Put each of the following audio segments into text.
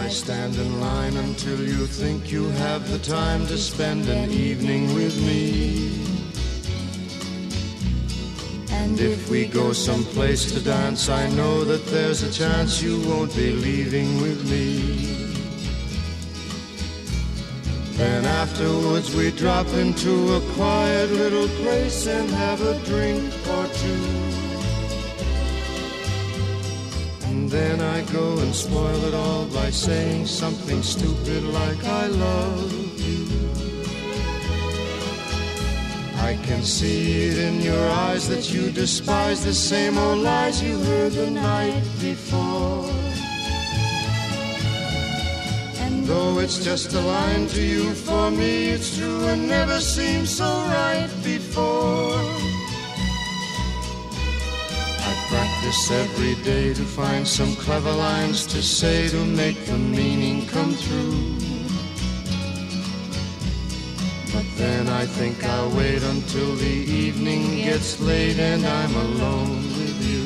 stand in line until you think you have the time to spend an evening with me. And if we go someplace to dance, I know that there's a chance you won't be leaving with me. Then afterwards we drop into a quiet little place and have a drink or two. And then I go and spoil it all by saying something stupid like I love you. I can see it in your eyes that you despise the same old lies you heard the night before. And though it's just a line to you, for me it's true and never seemed so right before. I practice every day to find some clever lines to say to make the meaning come through. But then I think I'll wait until the evening gets late and I'm alone with you.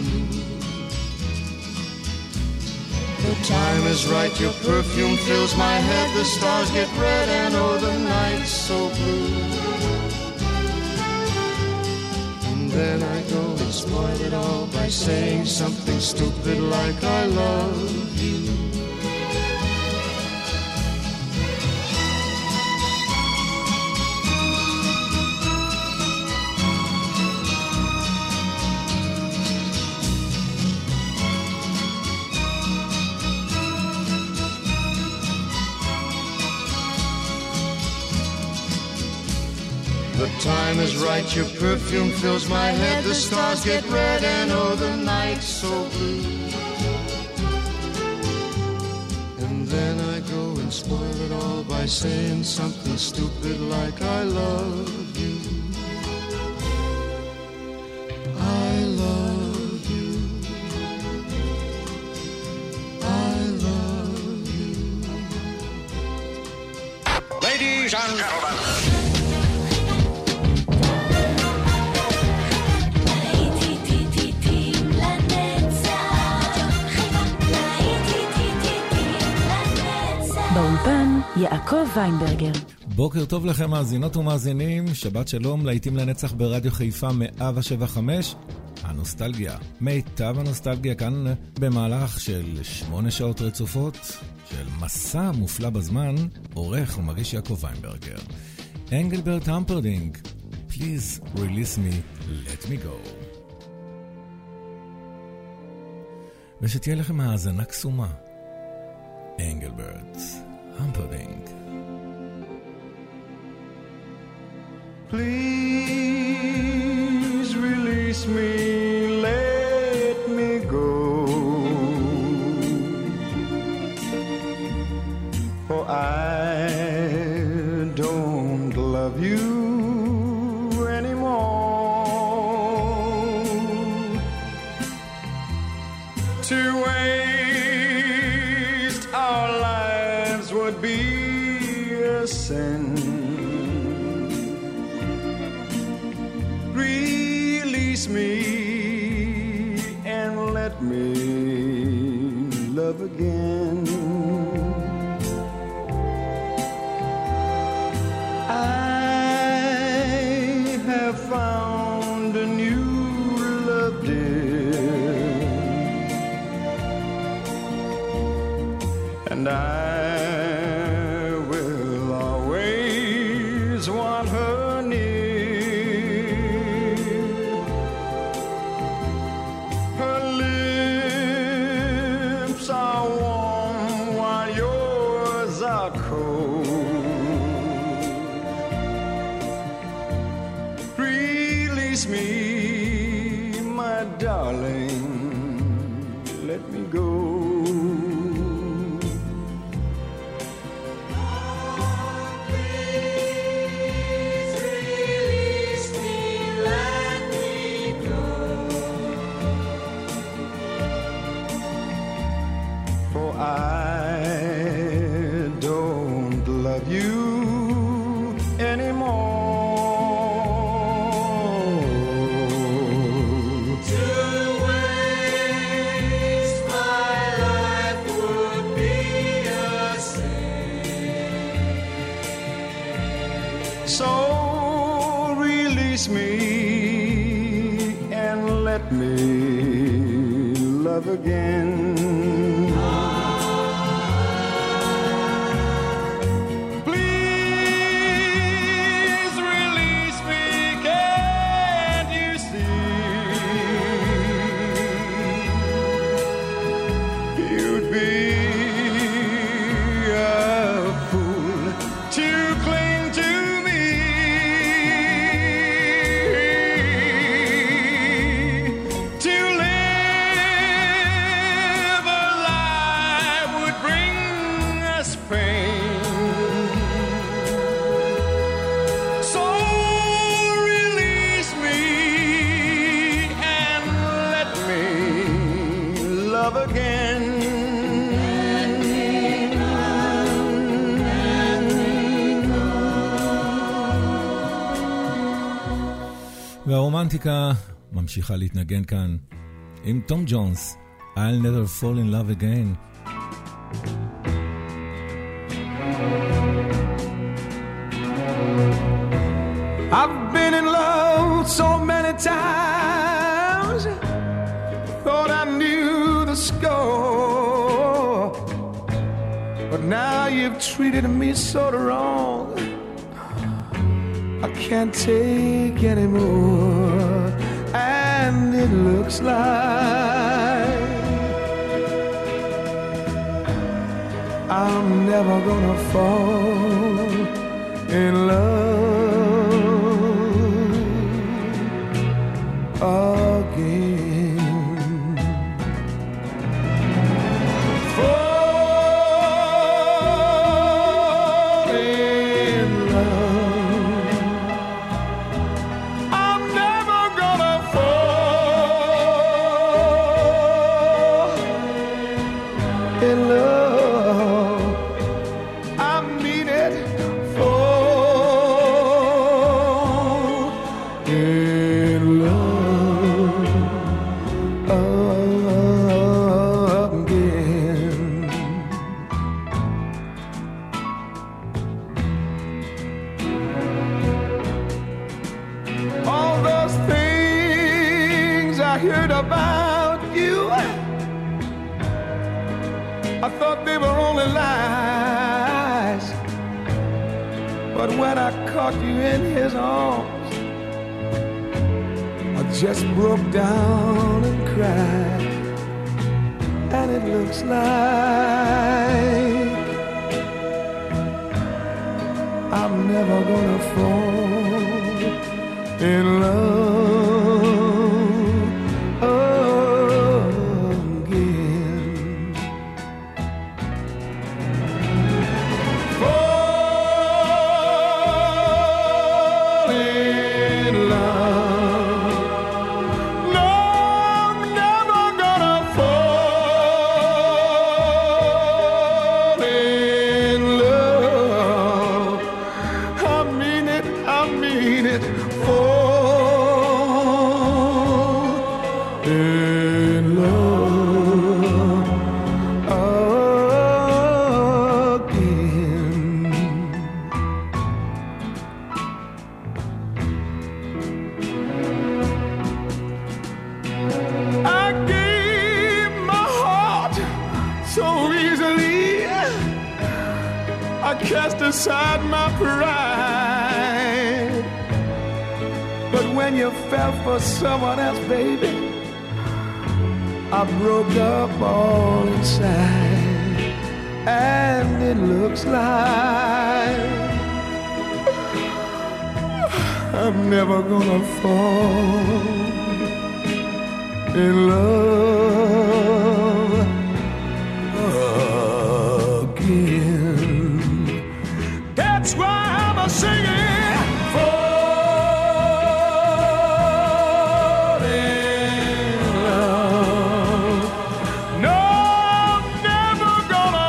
The time is right, your perfume fills my head, the stars get red and oh the night's so blue. And then I go and spoil it all by saying something stupid like I love you. The time is right, your perfume fills my head, the stars get red and oh the night's so blue. And then I go and spoil it all by saying something stupid like I love you. I love you. I love you. Ladies and gentlemen, באולפן יעקב ויינברגר. בוקר טוב לכם מאזינות ומאזינים, שבת שלום, להיטים לנצח ברדיו חיפה 107.5. הנוסטלגיה, מיטב הנוסטלגיה כאן במהלך של 8 שעות רצופות של מסע מופלא בזמן. עורך ומגיש יעקב ויינברגר. אנגלברט המפרדינג, Please release me, let me go. ושתהיה לכם האזנה קסומה. Engelbert Humperdinck. Please release me, let me go. For I don't love you anymore. To waste our lives would be a sin. Release me and let me love again. I have found a new love, dear, and I will always want her near. Her lips are warm while yours are cold. Release me, my darling, let me go. To waste my So release me and let me love again. Please release me, can't you see? You'd be והרומנטיקה ממשיכה להתנגן כאן עם תום ג'ונס, I'll never fall in love again. I've been in love so many times, thought I knew the score, but now you've treated me so wrong, I can't take anymore, and it looks like I'm never gonna fall in love again. Fall in love, I'm never gonna fall in love. I mean it. Fall in love again. All those things I heard about you, I thought they were only lies, but when I caught you in his arms, I just broke down and cried, and it looks like I'm never gonna fall in love again. Fall in love. No, I'm never gonna fall in love. I mean it, I mean it. Fall in love again. I gave my heart so easily, I cast aside my pride. But when you fell for someone else, baby, I broke up all inside, and it looks like I'm never gonna fall in love again. That's why I'm a singing. Fall in love. No, I'm never gonna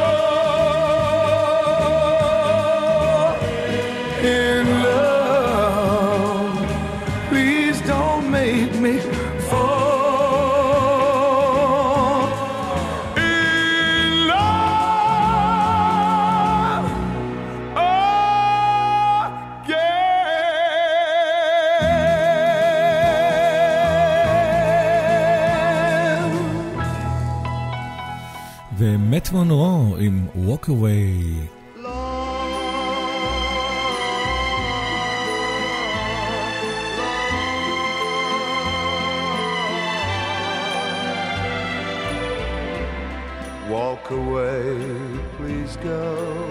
fall in love. Please don't make me fall in love again. מאט מונרו עם Walk Away. Walk away, please go,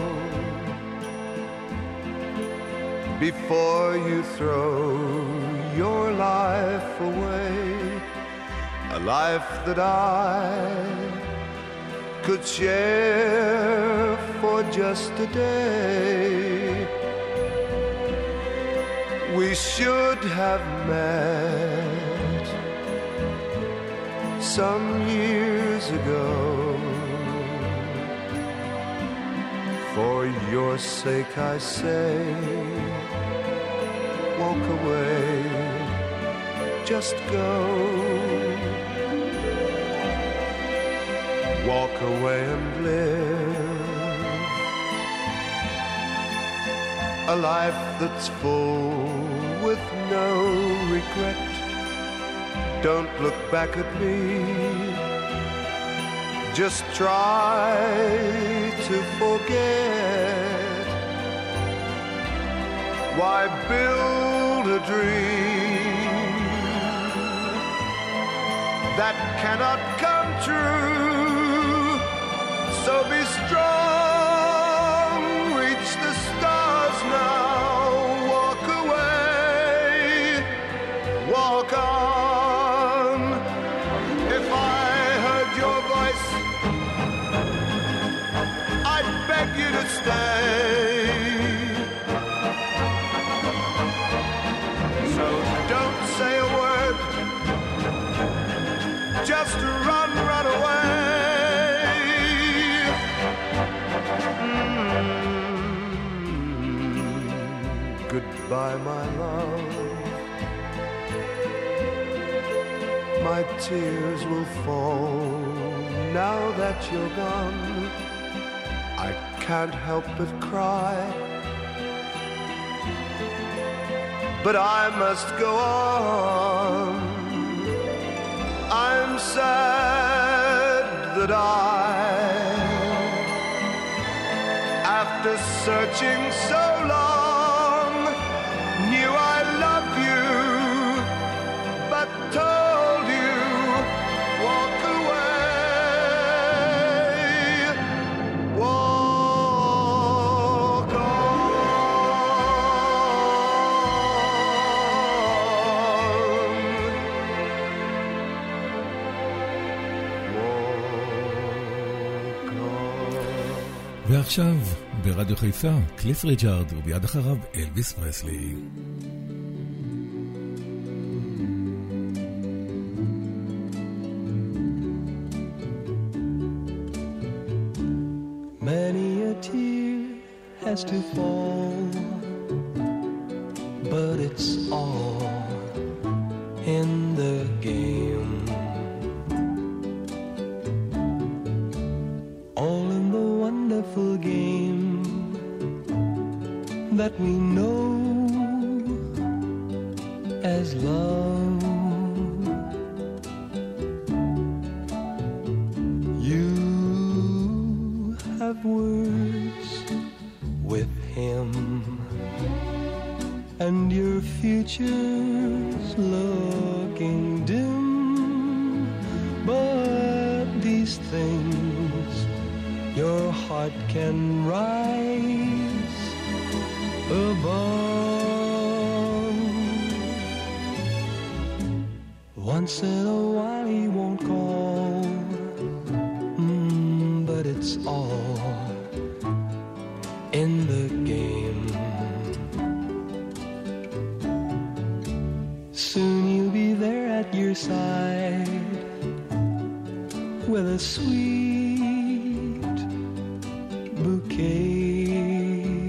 before you throw your life away, a life that I could share for just a day. We should have met some years ago. For your sake I say, walk away, just go. Walk away and live a life that's full with no regret. Don't look back at me, just try to forget. Why build a dream that cannot come true? So be strong, reach the stars now, walk away, walk on. If I heard your voice, I'd beg you to stay. So don't say a word, just run, run away. Goodbye, my love. My tears will fall now that you're gone. I can't help but cry, but I must go on. I'm sad that after searching so long, knew I loved you, but told you, walk away, walk on. ועכשיו ברדיו חיפה, קליף ריצ'ארד, וביד אחריו אלוויס פרסלי. Many a tear has to fall, but it's all in the game. All in the wonderful game that we know as love. You have words with him, and your future's looking dim, but these things your heart can rise above. Once in a while he won't call, but it's all in the game. Soon you'll be there at your side with a sweet bouquet,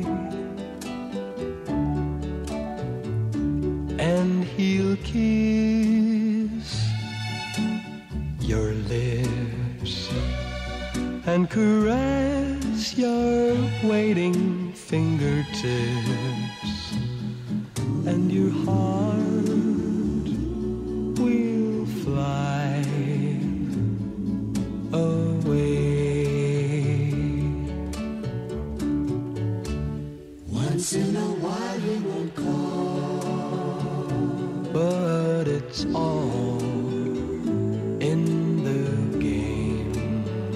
and he'll kiss your lips and caress your waiting fingertips, and your heart will fly away. Once in a while he won't call, but it's all in the game.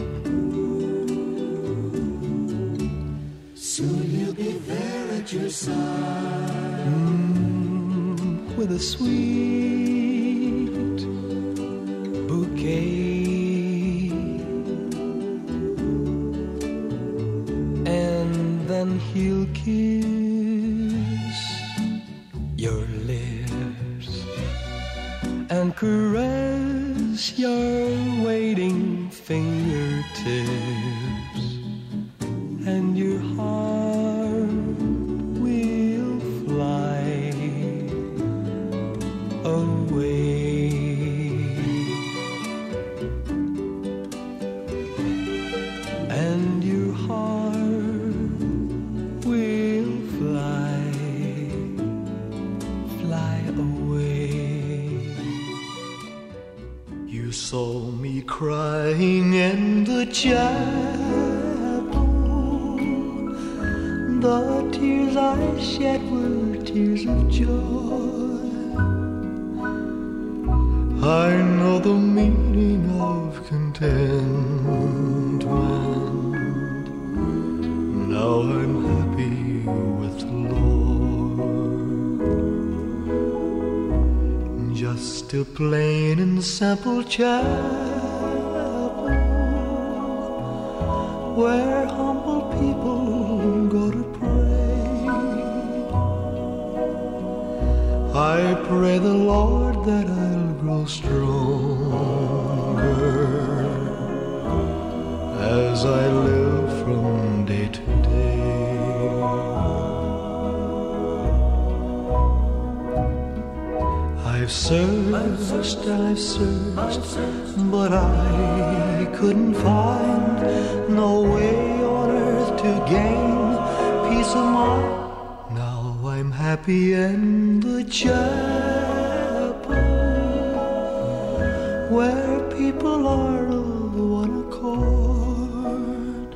Soon he'll be there at your side, with a sweet bouquet, and then he'll kiss your lips and caress your waiting fingertips, and your heart will fly away. And your heart will fly away. you saw me crying in the chapel. The tears I shed were tears of joy. I know the meaning of contentment. Now I'm happy with the Lord. Just a plain and simple chapel where humble people go to pray. I pray the Lord that I'll grow stronger as I live from day to day. I've searched and I've searched, but I couldn't find no way on earth to gain peace of mind. Now I'm happy in the chapel where people are of one accord.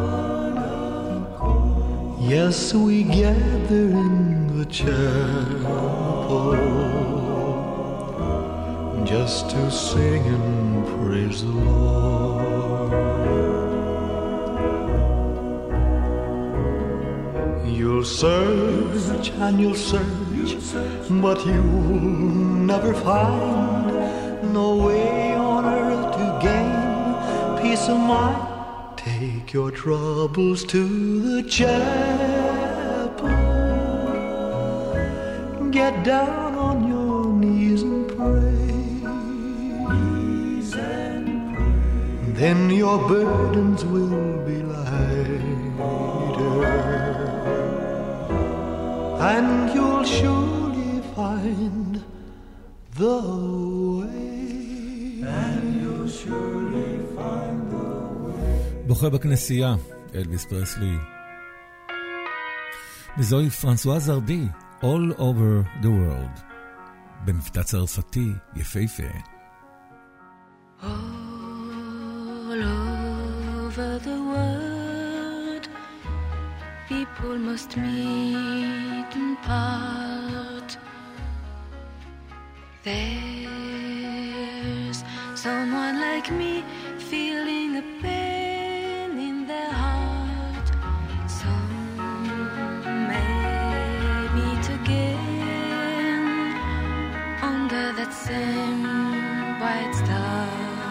Yes, we gather in the chapel just to sing and praise the Lord. You'll search and you'll search, but you'll never find no way on earth to gain peace of mind. Take your troubles to the chapel. Get down on your knees and pray. Then your burdens will be lighter, and you'll surely find the way. And you'll surely find the way. בוכה בכנסייה, אלביס פרסלי. וזוהי פרנסואז זרדי, All Over the World. במבטא צרפתי יפהפה. All over the world, people must meet and part. There's someone like me feeling a pain in their heart. Some may meet again under that same bright star.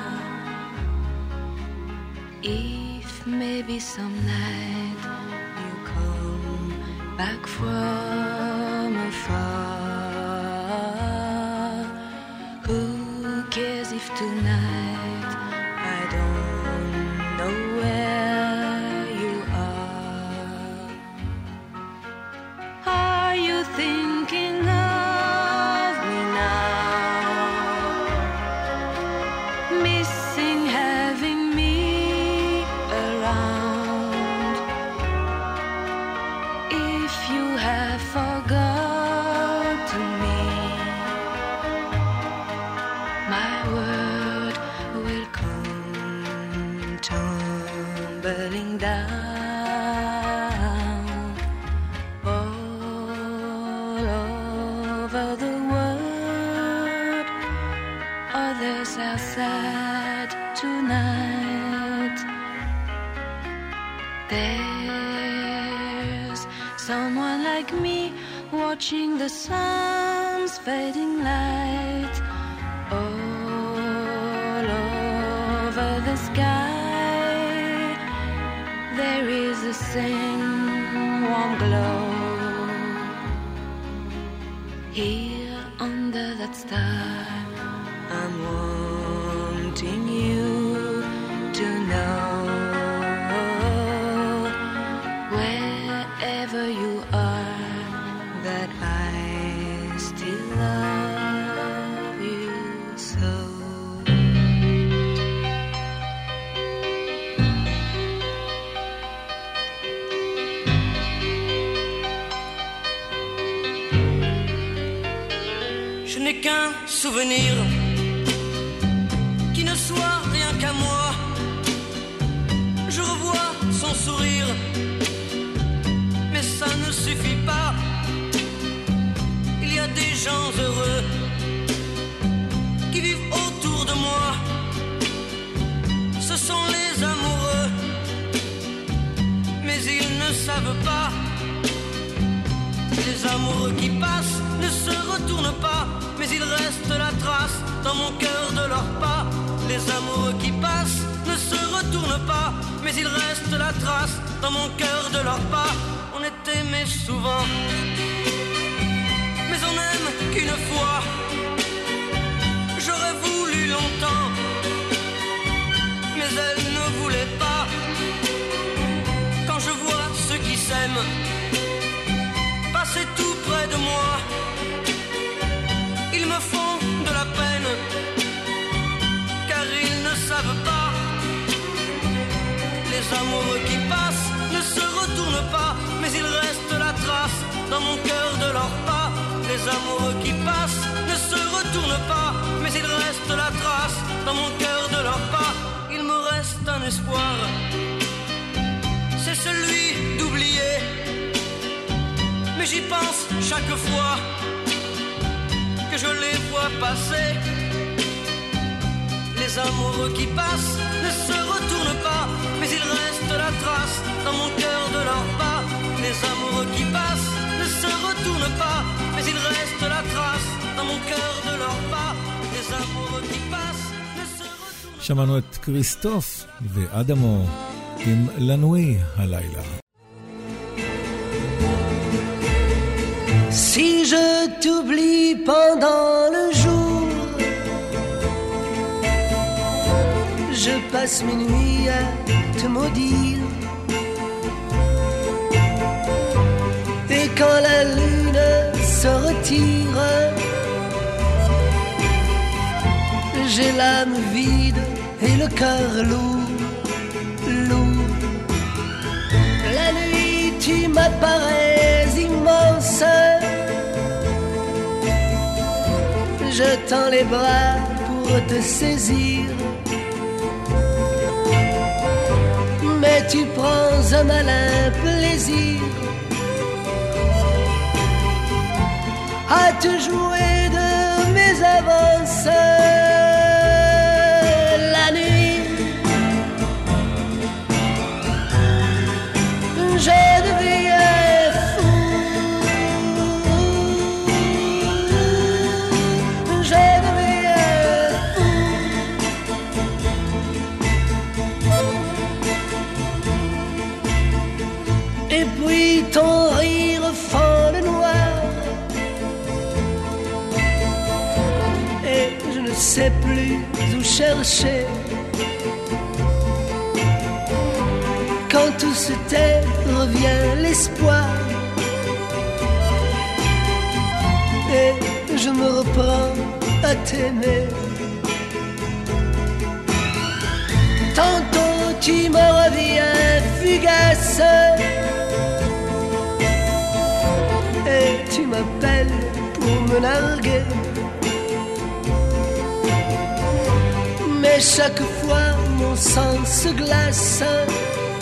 If maybe some night you come back from afar, who cares if tonight I don't know where you are? Are you thinking of me now? Missing having me around. If you have forgotten me, my world will come tumbling down. Oh, all over the world. Others are sad tonight. There's someone like me watching the sun's fading light all over the sky. There is a same warm glow here under that star. I'm wanting you to know, wherever you are, that I still love you so. Je n'ai qu'un souvenir qui ne soit rien qu'à moi. Je revois son sourire, mais ça ne suffit pas. Il y a des gens heureux qui vivent autour de moi. Ce sont les amoureux, mais ils ne savent pas. Les amoureux qui passent ne se retournent pas, mais il reste la trace dans mon cœur de leurs pas. Les amoureux qui passent ne se retournent pas, mais il reste la trace dans mon cœur de leurs pas. On est aimé souvent, mais on n'aime qu'une fois. J'aurais voulu longtemps, mais elle ne voulait pas. Quand je vois ceux qui s'aiment passer tout près de moi, ils me font de la peine, car ils ne savent pas. Les amoureux qui passent ne se retournent pas, mais il reste la trace dans mon cœur de leurs pas. Les amoureux qui passent ne se retournent pas, mais il reste la trace dans mon cœur de leurs pas. Il me reste un espoir, c'est celui d'oublier, mais j'y pense chaque fois que je les vois passer. Les amoureux qui passent ne se retournent pas, mais il reste la trace dans mon cœur de leurs pas. Les amoureux qui passent ne se retournent pas, mais il reste la trace dans mon cœur de leurs pas. Les amoureux qui passent ne se retournent pas. שמענו את כריסטוף ואדמו עם לנוי הלילה. Si je t'oublie pendant le jour, je passe mes nuits à te maudire. Et quand la lune se retire, j'ai l'âme vide et le cœur lourd, lourd. La nuit tu m'apparais immense, je tends les bras pour te saisir, mais tu prends un malin plaisir à te jouer de mes avances. La nuit, je deviens fou, je deviens fou. Et puis ton rire fend le noir, et je ne sais plus où chercher. Quand tout se tait, revient l'espoir, et je me reprends à t'aimer. Tantôt tu me reviens fugace, et tu m'appelles pour me narguer. Mais chaque fois mon sang se glace,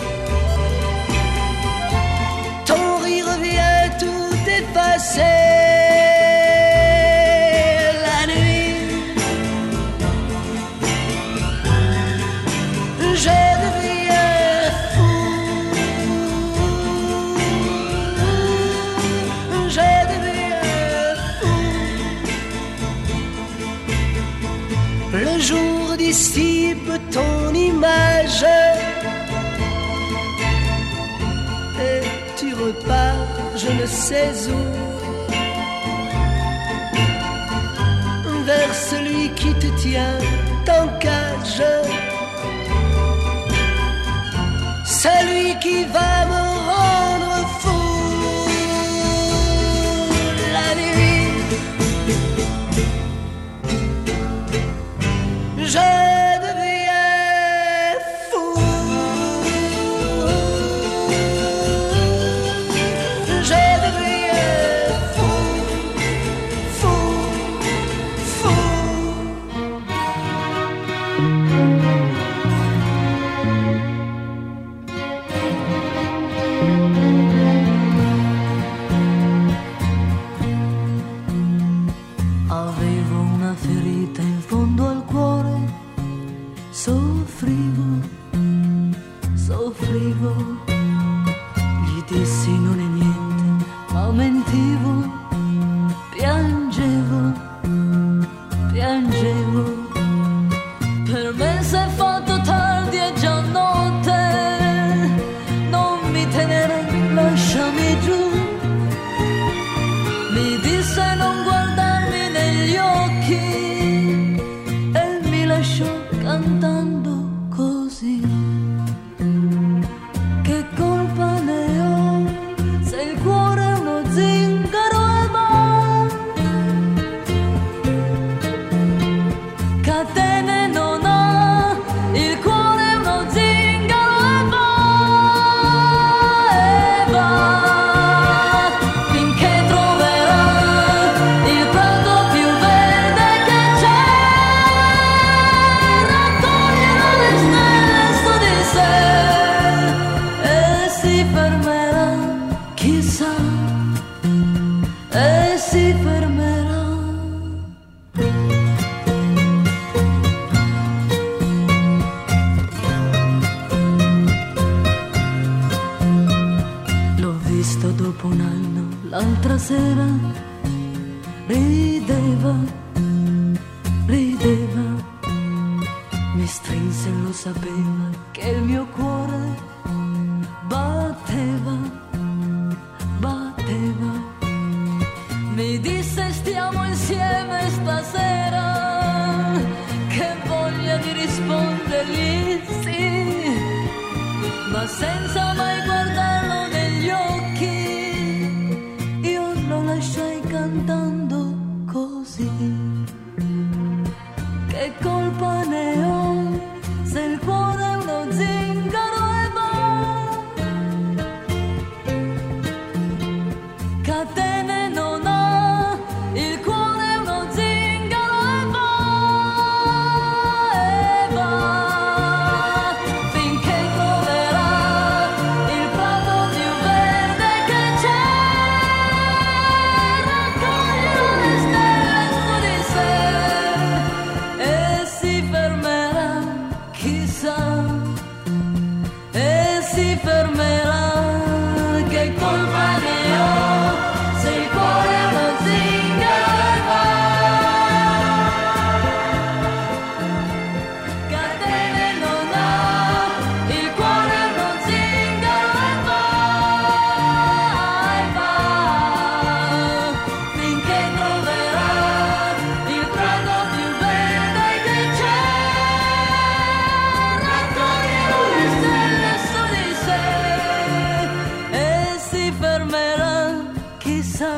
ton rire vient tout effacer. dissipe ton image et tu repars je ne sais où vers celui qui te tient en cage, celui qui va me rendre fou la nuit. Je deviens fou, je deviens fou, fou, fou. Avevo una ferita in fondo al cuore, soffrivo, soffrivo, gli dissi non è niente, ma mentivo, piangevo, piangevo, per me s'è fatto tardi e già notte, non mi tenere, lasciami giù, mi disse non guardarmi negli occhi e mi lasciò cantando così. Che colpa ne ho se il cuore è uno zingaro e va, catene non ha, il cuore è uno zingaro e va, finché troverà il prato più verde che c'è, raccoglierà le stelle su di sé e si fermerà, chissà, e si fermerà. L'ho visto dopo un anno, l'altra sera, rideva, rideva, mi strinse e lo sapeva che il mio cuore batteva, batteva, mi disse stiamo insieme stasera, che voglia di rispondergli sì, ma senza mai guardarlo negli occhi, io lo lasciai cantando così. Che colpa ne ho se il cuore è uno zingaro e va, catene non ha, il cuore è uno zingaro e va, finché troverà il prato più verde che c'è, raccoglierà le stelle su di sé e si fermerà, chissà, e si fermerà. Che colpa ne ho se il cuore è uno zingaro e va, catene non ha, il cuore è uno zingaro e va, finché troverà il prato più verde che c'è, raccoglierà le stelle su di sé e si fermerà, chissà,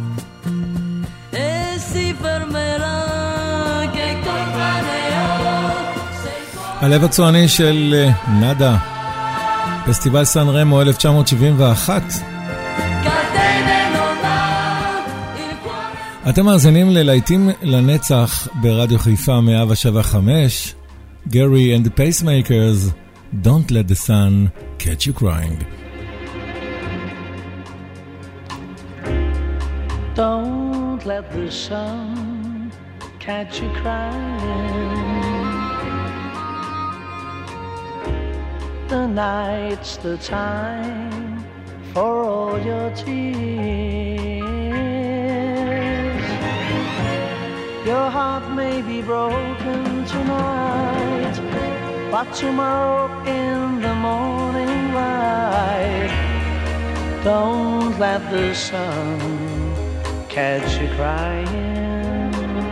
e si fermerà. Che colpa ne ho se il cuore הלב הצועני של נאדה, פסטיבל סן רמו 1971. catene non ha, il cuore. אתם מאזינים ללהיטים לנצח ברדיו חיפה 107.5, גרי and the Pacemakers, Don't let the sun catch you crying. Don't let the sun catch you crying. The night's the time for all your tears. Your heart may be broken tonight, but tomorrow in the morning light, don't let the sun catch you crying.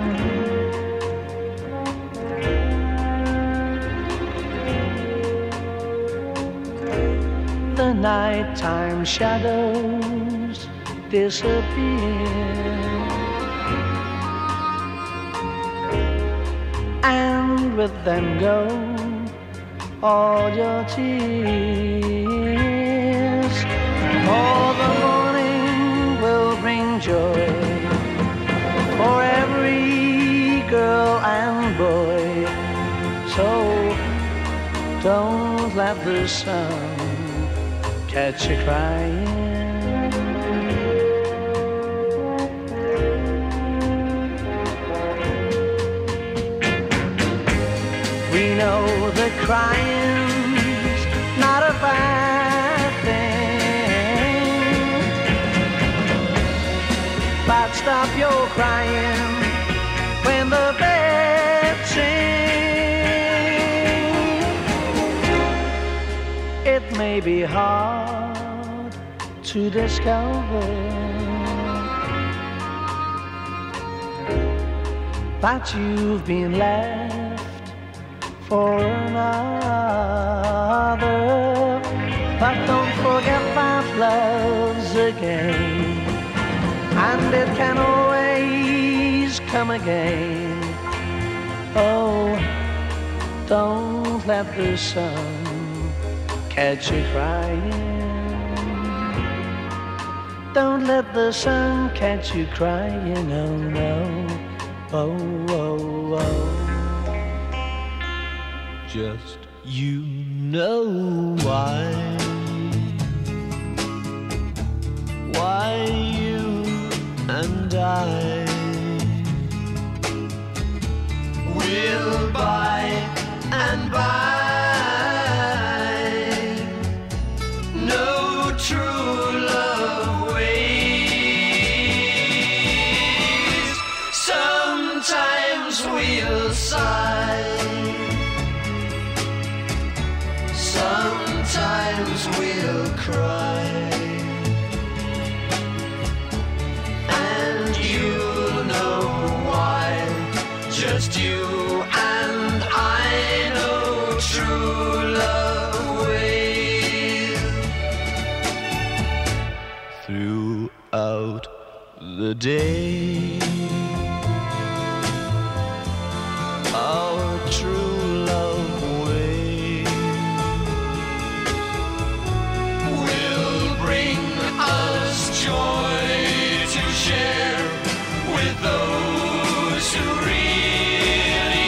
The nighttime shadows disappear, and with them go all your tears. For the morning will bring joy for every girl and boy. So don't let the sun catch you crying. We know that crying's not a bad thing, but stop your crying when the birds sing. It may be hard to discover, but you've been left for another. But don't forget that love's a game, and it can always come again. Oh, don't let the sun catch you crying. Don't let the sun catch you crying, oh no, oh, oh, oh. Just you know why you and I will by and by no true love ways. Sometimes we'll sigh, sometimes we'll cry, and you'll know why. Just you and I know true love ways. Throughout the day, our true love joy to share with those who really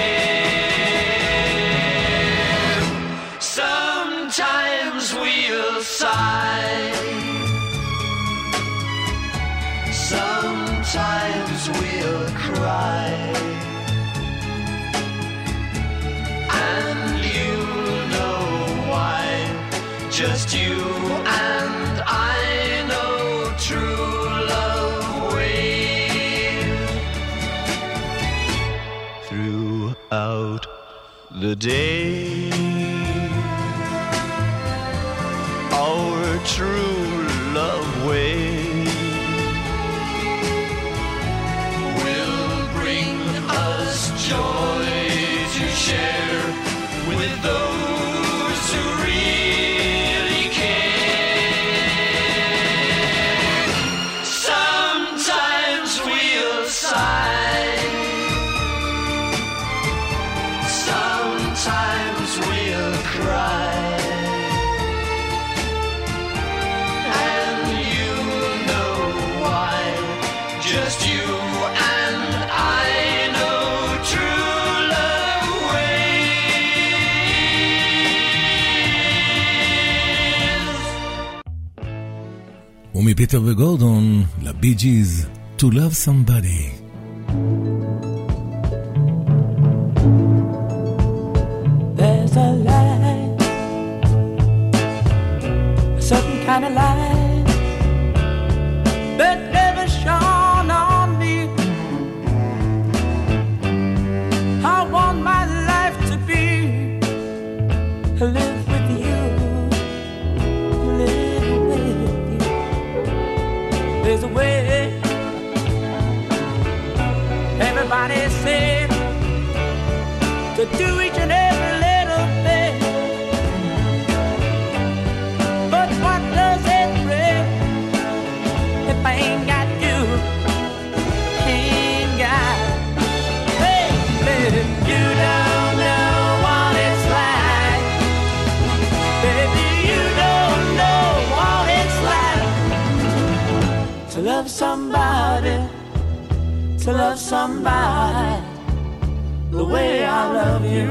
care. Sometimes we'll sigh, sometimes we'll cry, and you'll know why. Just you and I know true love ways. Throughout the day, our true love ways will bring us joy to share with those who really care. Sometimes we'll sigh, sometimes we'll cry, and you'll know why. Just you and I know true love ways. ומפיטר וגורדון לבי ג'יז, To Love Somebody. There's a light, a certain kind of light that never shone on me. I want my life to be to do each and every little thing. But what does it bring if I ain't got you? Ain't got, baby, you don't know what it's like. Baby, you don't know what it's like to love somebody, to love somebody the way I love you.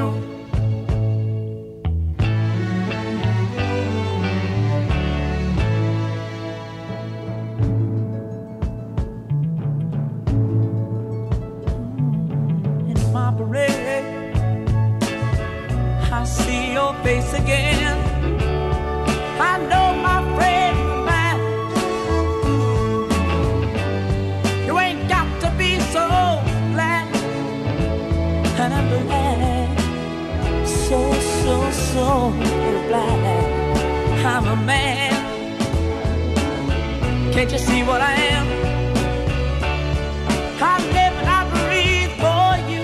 In my parade, I see your face again. I know my friend of mine. You ain't got to be so glad. And I'm glad, so glad I'm a man. Can't you see what I am? I live and I breathe for you.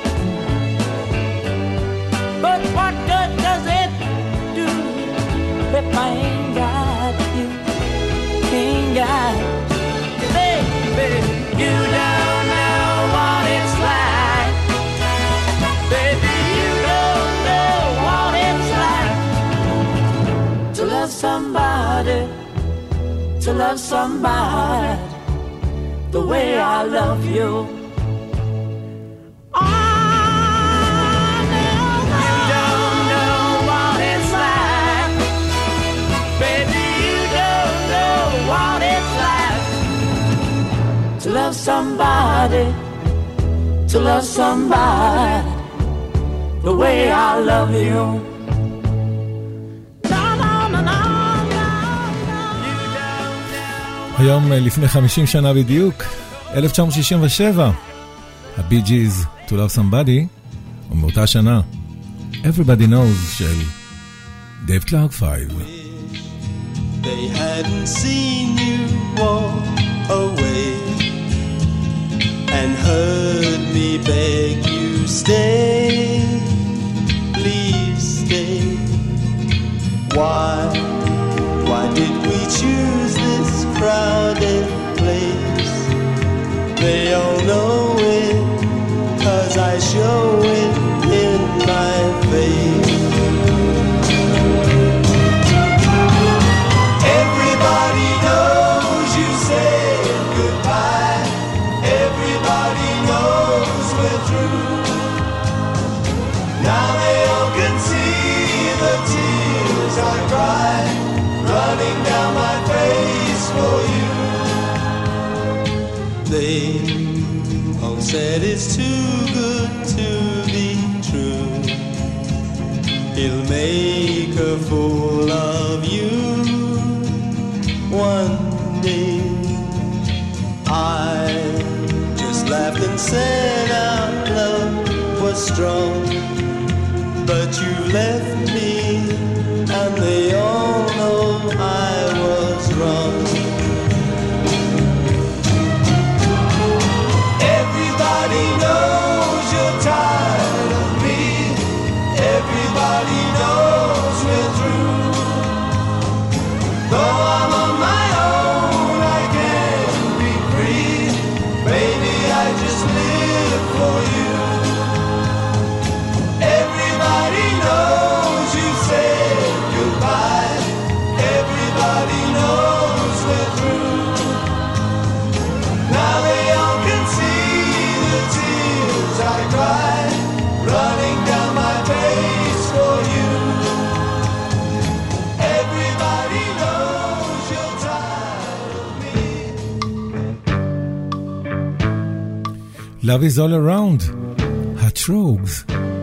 But what good does it do if I ain't got you? Ain't got you, baby. You don't know what it's like. Baby, you don't know what it's like to love somebody, to love somebody the way I love you. Oh, no, you don't know what it's like. Baby, you don't know what it's like to love somebody, to love somebody the way I love you. היום לפני 50 שנה בדיוק, 1967, הבי ג'יז, To Love Somebody, ומאותה שנה, Everybody Knows של דייב קלארק 5. They hadn't seen you walk away and heard me beg you stay, please stay. Why did we choose this crowded place? They all know it, 'cause I show it in my face. Everybody knows you said goodbye. Everybody knows we're through. Now they all can see the tears I cry, running down my face for you. They all said it's too good to be true. He'll make a fool of you one day. I just laughed and said our love was strong, but you left me and they all know I was wrong. Everybody knows you're tired of me. Everybody knows we're through. Though I'm on my own, I can't be free. Baby, I just live for you. Everybody knows you said goodbye. Everybody knows we're through. Now they all can see the tears I cry, running down my face for you. Everybody knows you're tired of me. Love is all around, Hatrogues.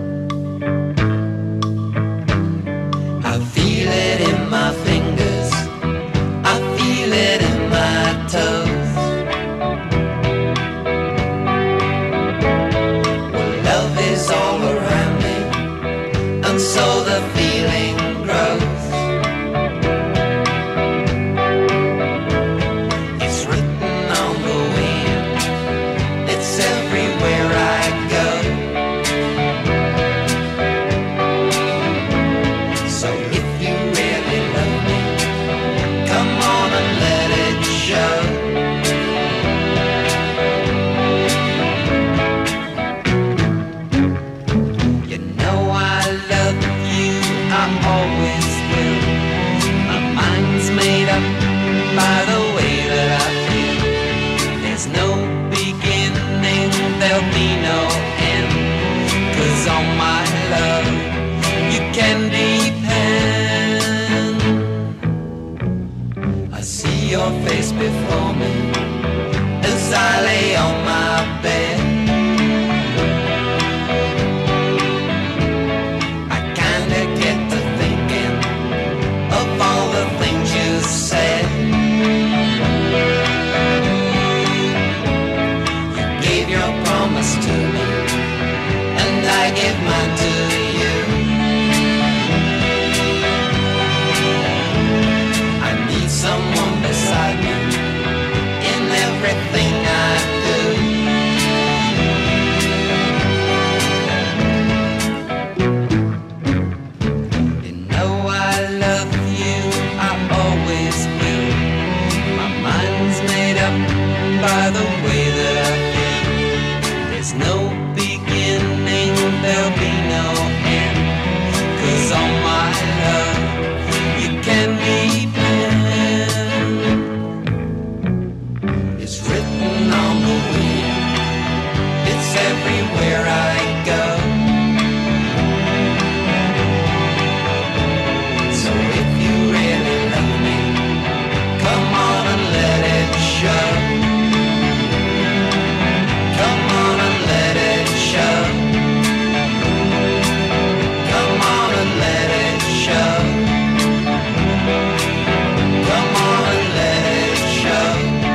I feel it in my fingers, I feel it in my toes. Well, love is all around me, and so the feeling grows. It's written on the wind, it's everywhere I go. as I lay on my bed. I kinda get to thinking of all the things you said. You gave your promise to me, and I gave mine to you. I need someone beside me in everything I do. You know I love you, I always will. My mind's made up by the way that I feel. There's no beginning, there'll be no end. 'Cause all my love you can depend. It's written on the wind, it's everywhere I go. So if you really love me, come on and let it show. Come on and let it show. Come on and let it show. Come on and let it show.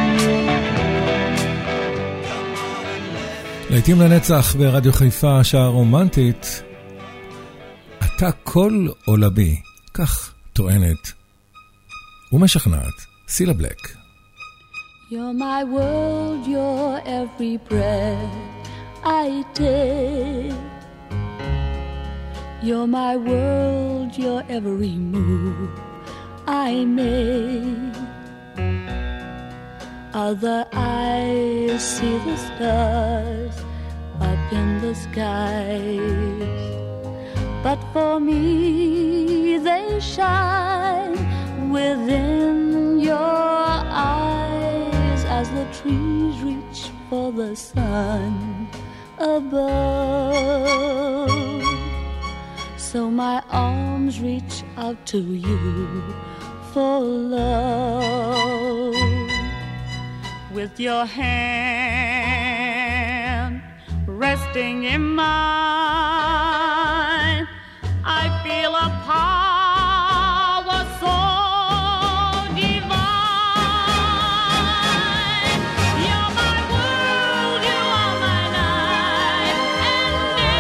לעתים לנצח ברדיו חיפה, שעה רומנטית. אתה כל עולמי, כך טוענת ומשכנעת סילה בלק. You're my world, you're every breath I take. You're my world, you're every move I make. Other eyes see the stars up in the skies, but for me they shine within your eyes as the trees reach for the sun above. So my arms reach out to you for love. With your hand resting in mine, I feel a power so divine. You're my world, you are my night and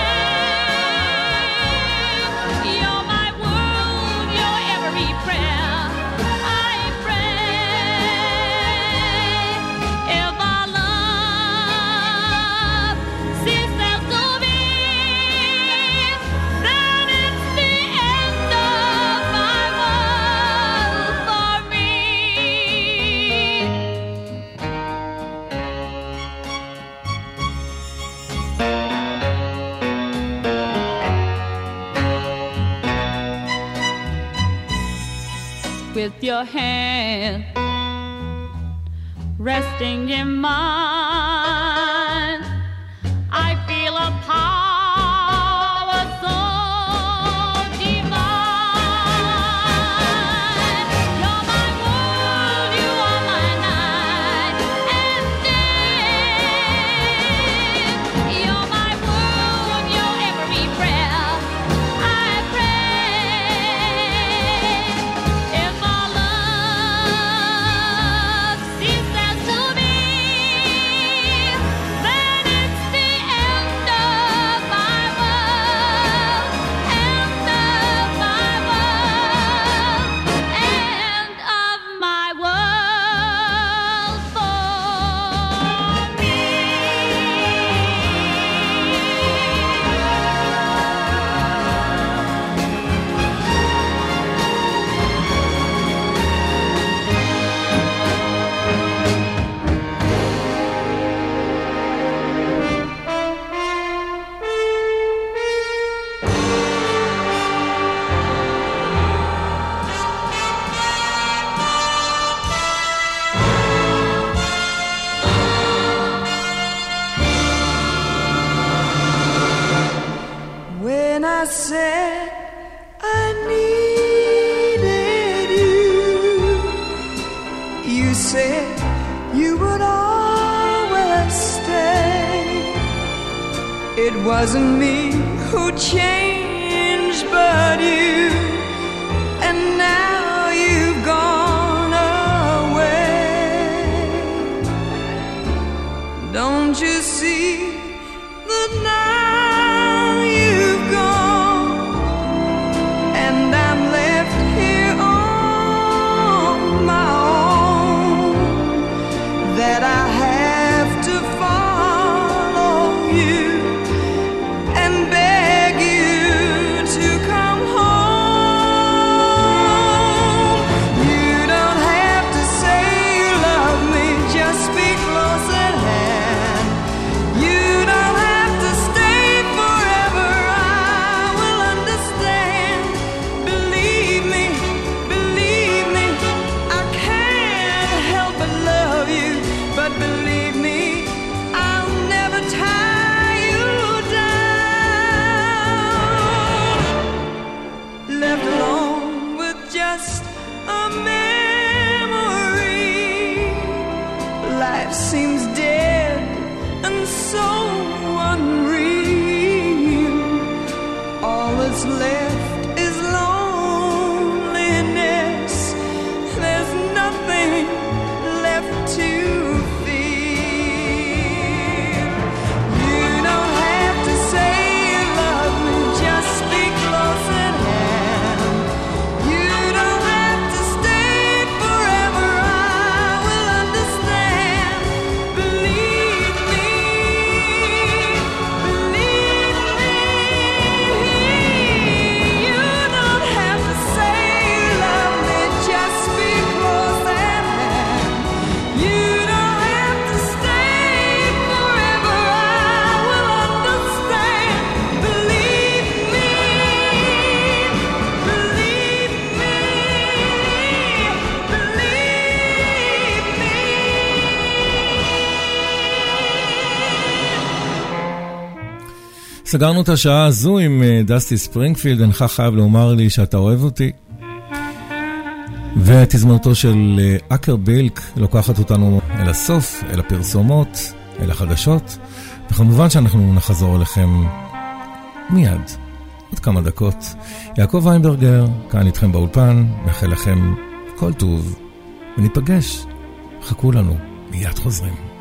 day. You're my world, you're every prayer I pray. If our love ceases to be, then it's the end of my world for me. With your hand resting in mine, I feel a power so divine. You're my world, you are my night and day. You're my world, you're every prayer I pray. If our love ceases to be, wasn't me who changed but you, and now you've gone away. Don't you see that now you've gone and I'm left here on my own, that I have to follow you and beg you to come home. You don't have to say you love me, just be close at hand. You don't have to stay forever, I will understand. Believe me, I can't help but love you, but believe me, I'll never tie you down. Left alone with just a memory, life seems dead and so unreal. All that's left is loneliness. There's nothing left to feel. You don't have to say you love me, just be close at hand. You don't have to stay forever, I will understand. Believe me, you don't have to say you love me, just be close at hand. You don't have to stay forever, I will understand. Believe me, סגרנו את השעה הזו עם דסטי ספרינגפילד, אינך חייב לומר לי שאתה אוהב אותי. והתזמורתו של אקר בילק לוקחת אותנו אל הסוף, אל הפרסומות, אל החדשות, וכמובן שאנחנו נחזור אליכם מיד, עוד כמה דקות. יעקב ויינברגר, כאן איתכם באולפן, מאחל לכם כל טוב, וניפגש. חכו לנו, מיד חוזרים.